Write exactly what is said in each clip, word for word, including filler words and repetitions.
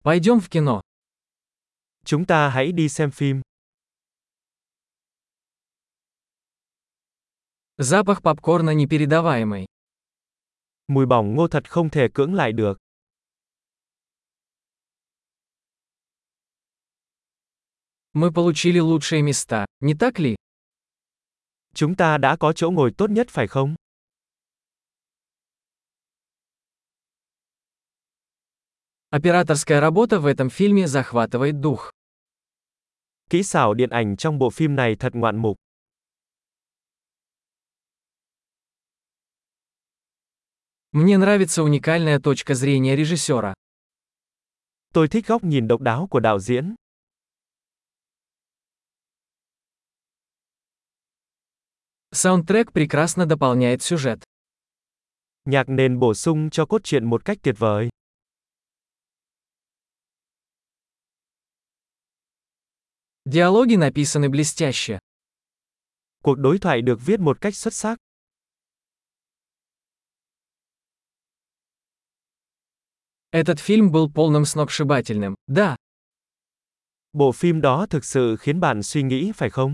Пойдем в кино. Chúng ta hãy đi xem phim. Запах попкорна непередаваемый. Mùi bỏng ngô thật không thể cưỡng lại được. Мы получили лучшие места, не так ли? Chúng ta đã có chỗ ngồi tốt nhất phải không? Операторская работа в этом фильме захватывает дух. Kỹ xảo điện ảnh trong bộ phim này thật ngoạn mục. Мне нравится уникальная точка зрения режиссера. Tôi thích góc nhìn độc đáo của đạo diễn. Саундтрек прекрасно дополняет сюжет. Nhạc nền bổ sung cho cốt truyện một cách tuyệt vời. Диалоги написаны блестяще. Cuộc đối thoại được viết một cách xuất sắc. Этот фильм был полным сногсшибательным, да. Bộ phim đó thực sự khiến bạn suy nghĩ phải không?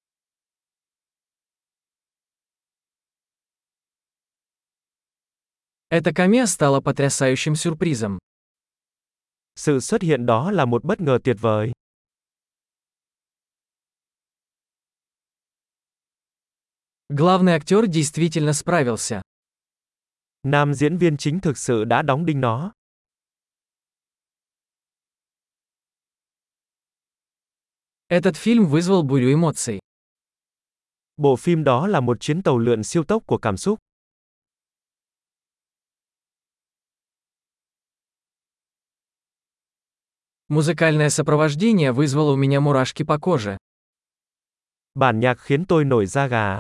Эта камео стала потрясающим сюрпризом. Sự xuất hiện đó là một bất ngờ tuyệt vời. Главный актер действительно справился. Nam diễn viên chính thực sự đã đóng đinh nó. Этот фильм вызвал бурю эмоций. Bộ phim đó là một chuyến tàu lượn siêu tốc của cảm xúc. Музыкальное сопровождение вызвало у меня мурашки по коже. Bản nhạc khiến tôi nổi da gà.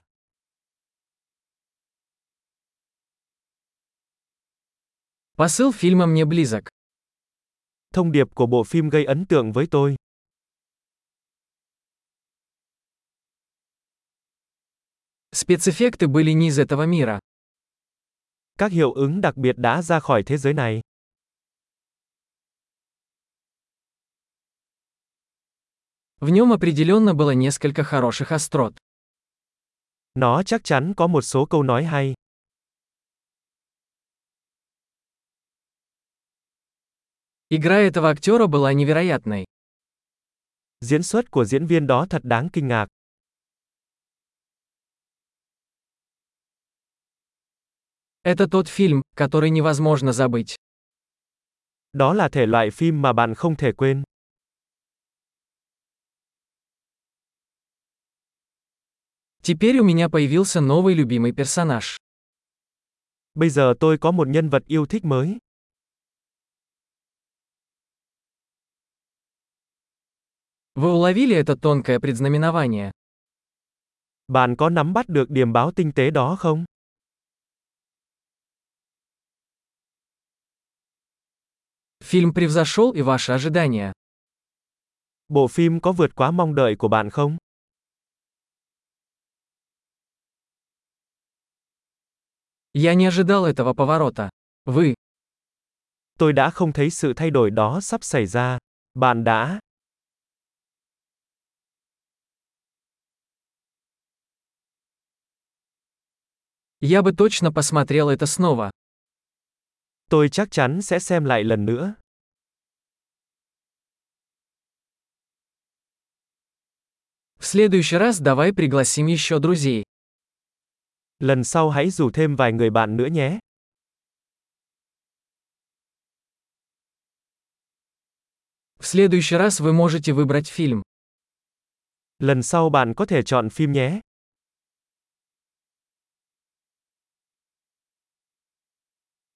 Посыл фильма мне близок. Thông điệp của bộ phim gây ấn tượng với tôi. Спецэффекты были не из этого мира. Các hiệu ứng đặc biệt đã ra khỏi thế giới này. В нем определенно было несколько хороших острот. Nó chắc chắn có một số câu nói hay. Игра этого актера была невероятной. Diễn xuất của diễn viên đó thật đáng kinh ngạc. Это тот фильм, который невозможно забыть. Đó là thể loại phim mà bạn không thể quên. Теперь у меня появился новый любимый персонаж. Bây giờ tôi có một nhân vật yêu thích mới. Вы уловили это тонкое предзнаменование? Bạn có nắm bắt được điềm báo tinh tế đó không? Фильм превзошел и ваши ожидания. Bộ phim có vượt quá mong đợi của bạn không? Я не ожидал этого поворота. Вы. Tôi đã không thấy sự thay đổi đó sắp xảy ra. Bạn đã. Я бы точно посмотрел это снова. Tôi chắc chắn sẽ xem lại lần nữa. В следующий раз давай пригласим еще друзей. Lần sau hãy rủ thêm vài người bạn nữa nhé. В следующий раз вы можете выбрать фильм. Lần sau bạn có thể chọn phim nhé.